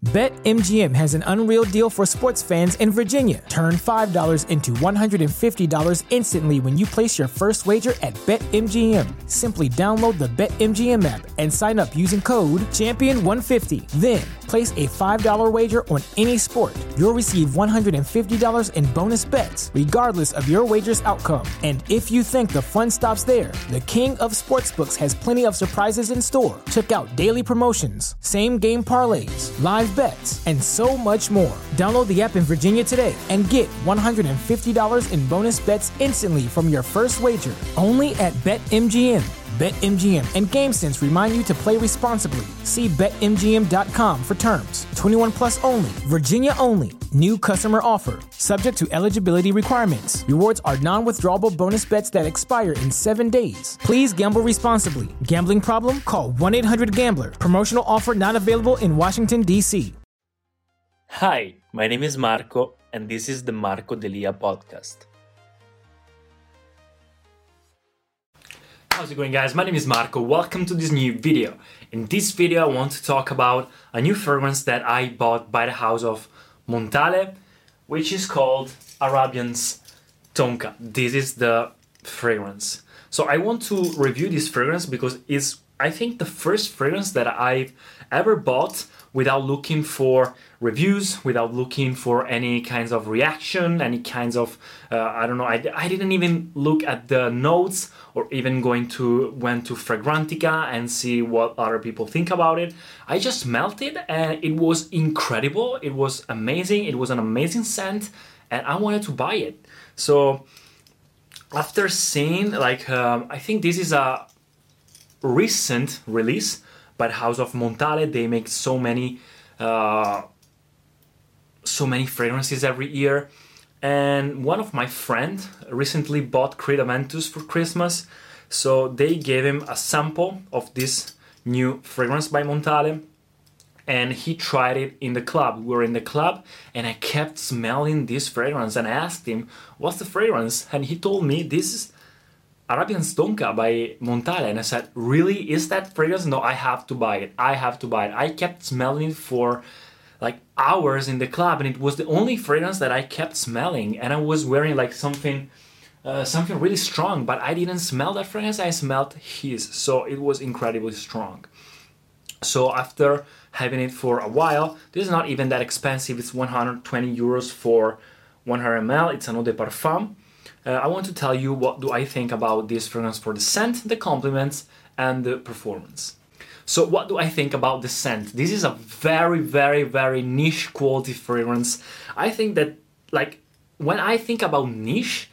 BetMGM has an unreal deal for sports fans in Virginia. Turn $5 into $150 instantly when you place your first wager at BetMGM. Simply download the BetMGM app and sign up using code Champion150. Then, place a $5 wager on any sport. You'll receive $150 in bonus bets, regardless of your wager's outcome. And if you think the fun stops there, the King of Sportsbooks has plenty of surprises in store. Check out daily promotions, same-game parlays, live bets, and so much more. Download the app in Virginia today and get $150 in bonus bets instantly from your first wager. Only at BetMGM. BetMGM and GameSense remind you to play responsibly. See BetMGM.com for terms. 21 plus only. Virginia only. New customer offer. Subject to eligibility requirements. Rewards are non-withdrawable bonus bets that expire in 7 days. Please gamble responsibly. Gambling problem? Call 1-800-GAMBLER. Promotional offer not available in Washington, D.C. Hi, my name is Marco, and this is the Marco Delia podcast. How's it going, guys? My name is Marco. Welcome to this new video. In this video, I want to talk about a new fragrance that I bought by the house of Montale, which is called Arabian's Tonka. This is the fragrance. So I want to review this fragrance because it's, I think, the first fragrance that I've ever bought without looking for reviews, without looking for any kinds of reaction, any kinds of, I didn't even look at the notes or even went to Fragrantica and see what other people think about it. I just smelled it and it was incredible. It was amazing. It was an amazing scent and I wanted to buy it. So after seeing, I think this is a recent release by the house of Montale. They make so many fragrances every year, and one of my friends recently bought Creed Aventus for Christmas, so they gave him a sample of this new fragrance by Montale, and he tried it in the club. We were in the club and I kept smelling this fragrance and I asked him, what's the fragrance? And he told me, this is Arabian's Tonka by Montale. And I said, really? Is that fragrance? No, I have to buy it. I kept smelling it for like hours in the club and it was the only fragrance that I kept smelling. And I was wearing like something really strong, but I didn't smell that fragrance. I smelled his. So it was incredibly strong. So after having it for a while, this is not even that expensive. It's 120 euros for 100 ml. It's an eau de parfum. I want to tell you what do I think about this fragrance for the scent, the compliments, and the performance. So what do I think about the scent? This is a very, very, very niche quality fragrance. I think that, like, when I think about niche,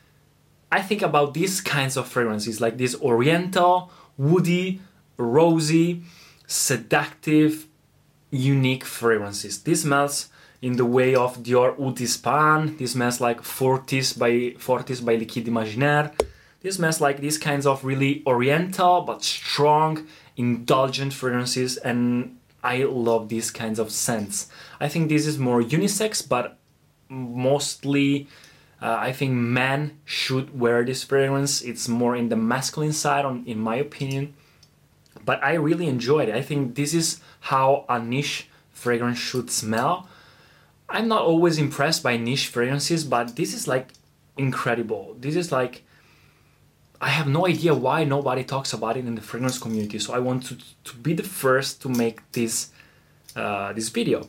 I think about these kinds of fragrances, like this oriental, woody, rosy, seductive, unique fragrances. This smells in the way of Dior Oud d'Espagne. This smells like Fortis by Liquide Imaginaire. This smells like these kinds of really oriental but strong, indulgent fragrances, and I love these kinds of scents. I think this is more unisex, but mostly I think men should wear this fragrance. It's more in the masculine side, in my opinion. But I really enjoyed it. I think this is how a niche fragrance should smell. I'm not always impressed by niche fragrances, but this is like incredible. This is like, I have no idea why nobody talks about it in the fragrance community. So I want to be the first to make this video.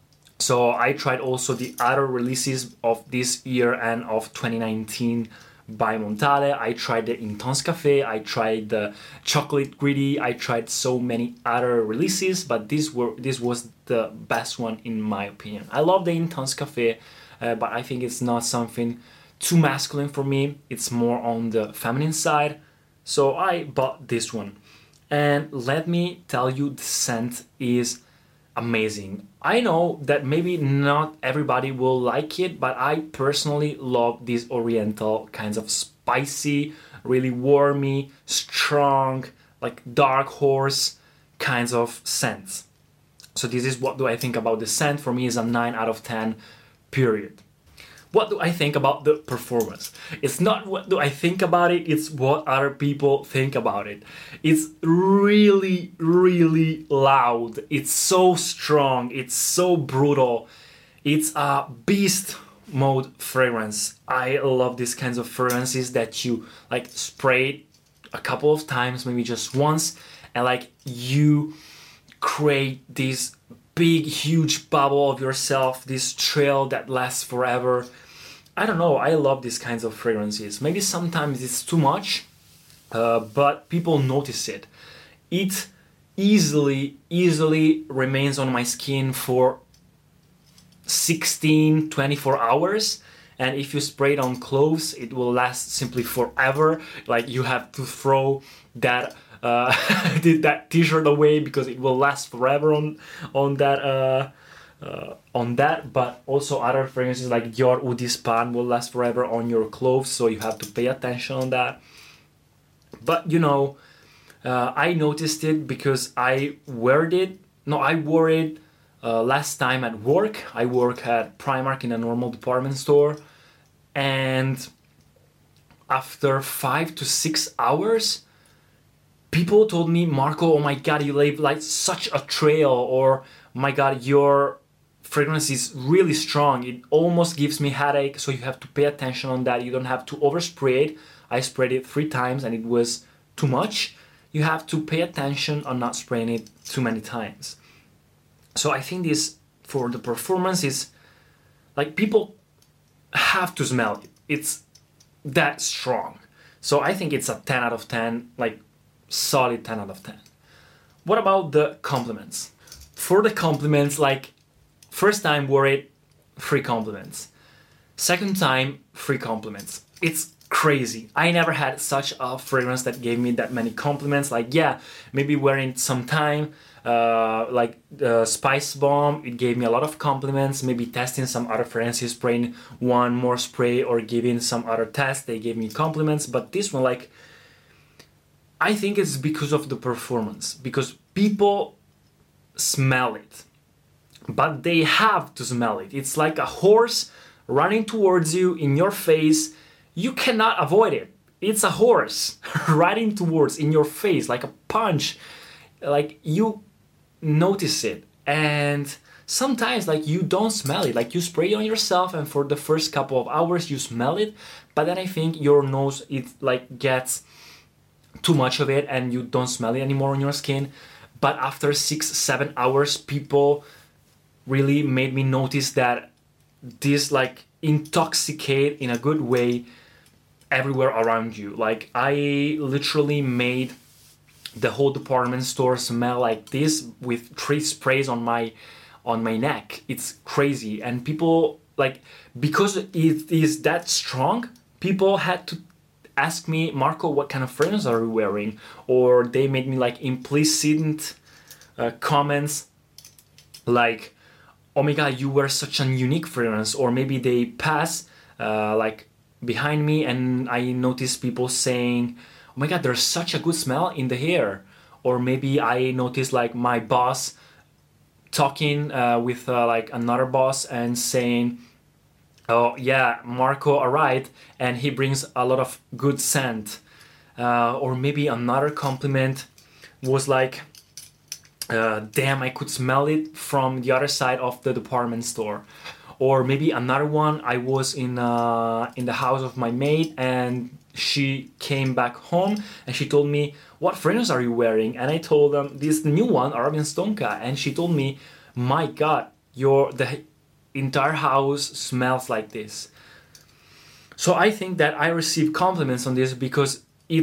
So I tried also the other releases of this year and of 2019 by Montale. I tried the Intense Cafe, I tried the Chocolate Greedy, I tried so many other releases, but this was the best one in my opinion. I love the Intense Cafe, but I think it's not something too masculine for me. It's more on the feminine side. So I bought this one. And let me tell you, the scent is amazing. I know that maybe not everybody will like it, but I personally love these oriental kinds of spicy, really warmy, strong, like dark horse kinds of scents. So this is what do I think about the scent. For me, is a 9 out of 10, period. what do I think about the performance? It's not what do I think about it, it's what other people think about it. It's really, really loud. It's so strong. It's so brutal. It's a beast mode fragrance. I love these kinds of fragrances that you like spray a couple of times, maybe just once, and like you create this big huge bubble of yourself, this trail that lasts forever. I don't know, I love these kinds of fragrances. Maybe sometimes it's too much, but people notice it. It easily remains on my skin for 16, 24 hours. And if you spray it on clothes, it will last simply forever. Like you have to throw that that t-shirt away because it will last forever on that. But also other fragrances like Dior Eau d'Espagne will last forever on your clothes, so you have to pay attention on that. But you know, I noticed it because I wore it last time at work. I work at Primark in a normal department store, and after 5 to 6 hours, people told me, Marco, oh my god, you leave like such a trail, or oh my god, your fragrance is really strong. It almost gives me headache, so you have to pay attention on that. You don't have to overspray it. I sprayed it 3 times and it was too much. You have to pay attention on not spraying it too many times. So I think this, for the performance, is like people have to smell it. It's that strong. So I think it's a 10 out of 10, like solid 10 out of 10. What about the compliments? For the compliments, like first time wore it, 3 compliments. Second time, 3 compliments. It's crazy. I never had such a fragrance that gave me that many compliments. Like, yeah, maybe wearing some time, like Spice Bomb, it gave me a lot of compliments. Maybe testing some other fragrances, spraying one more spray or giving some other test, they gave me compliments. But this one, like, I think it's because of the performance, because people smell it, but they have to smell it. It's like a horse running towards you in your face. You cannot avoid it. It's a horse riding towards in your face like a punch. Like you notice it, and sometimes like you don't smell it. Like you spray it on yourself, and for the first couple of hours you smell it, but then I think your nose, it like gets too much of it and you don't smell it anymore on your skin. But after 6-7 hours, people really made me notice that this like intoxicate in a good way everywhere around you. Like I literally made the whole department store smell like this with 3 sprays on my neck. It's crazy. And people, like, because it is that strong, people had to ask me, Marco, what kind of fragrance are you wearing? Or they made me like implicit comments like, oh my god, you wear such a unique fragrance. Or maybe they pass like behind me and I notice people saying, oh my god, there's such a good smell in the hair. Or maybe I notice like my boss talking with like another boss and saying, oh yeah, Marco arrived and he brings a lot of good scent. Or maybe another compliment was like, damn, I could smell it from the other side of the department store. Or maybe another one, I was in the house of my maid and she came back home and she told me, what fragrance are you wearing? And I told them, this new one, Arabian Stonka. And she told me, my god, the entire house smells like this. So I think that I receive compliments on this because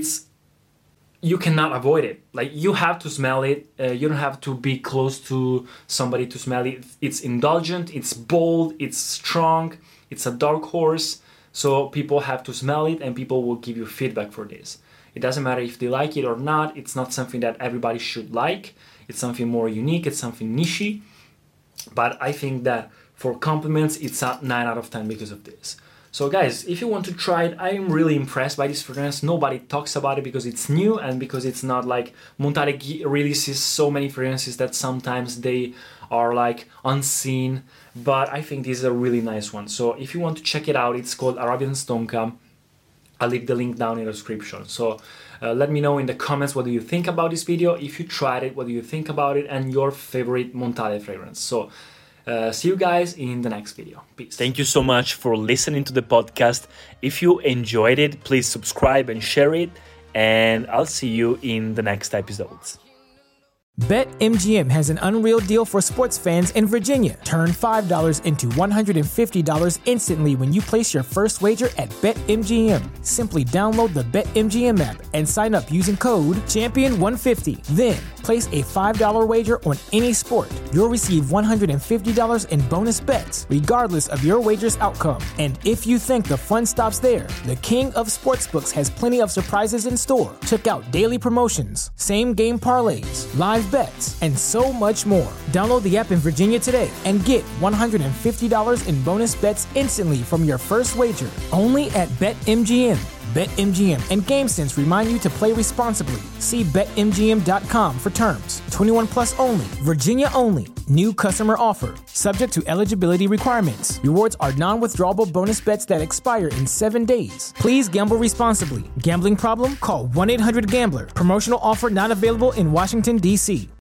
you cannot avoid it. Like you have to smell it. You don't have to be close to somebody to smell it. It's indulgent, it's bold, it's strong, it's a dark horse. So people have to smell it and people will give you feedback for this. It doesn't matter if they like it or not. It's not something that everybody should like. It's something more unique. It's something niche. But I think that for compliments, it's a 9 out of 10 because of this. So guys, if you want to try it, I'm really impressed by this fragrance. Nobody talks about it because it's new and because it's not like Montale releases so many fragrances that sometimes they are like unseen, but I think this is a really nice one. So if you want to check it out, it's called Arabian Stonka. I'll leave the link down in the description. So let me know in the comments what do you think about this video. If you tried it, what do you think about it, and your favorite Montale fragrance. So see you guys in the next video. Peace. Thank you so much for listening to the podcast. If you enjoyed it, please subscribe and share it, and I'll see you in the next episodes. BetMGM has an unreal deal for sports fans in Virginia. Turn $5 into $150 instantly when you place your first wager at BetMGM. Simply download the BetMGM app and sign up using code Champion150. Then, place a $5 wager on any sport. You'll receive $150 in bonus bets, regardless of your wager's outcome. And if you think the fun stops there, the king of sportsbooks has plenty of surprises in store. Check out daily promotions, same-game parlays, live bets, and so much more. Download the app in Virginia today and get $150 in bonus bets instantly from your first wager. Only at BetMGM. BetMGM and GameSense remind you to play responsibly. See BetMGM.com for terms. 21 plus only. Virginia only. New customer offer. Subject to eligibility requirements. Rewards are non-withdrawable bonus bets that expire in 7 days. Please gamble responsibly. Gambling problem? Call 1-800-GAMBLER. Promotional offer not available in Washington, D.C.